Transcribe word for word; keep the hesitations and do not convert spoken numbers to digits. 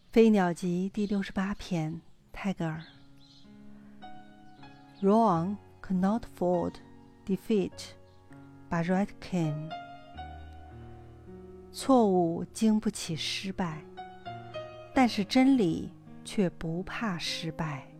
飞鸟集第六十八篇，泰戈尔。Wrong could not afford defeat, but right came. 错误经不起失败，但是真理却不怕失败。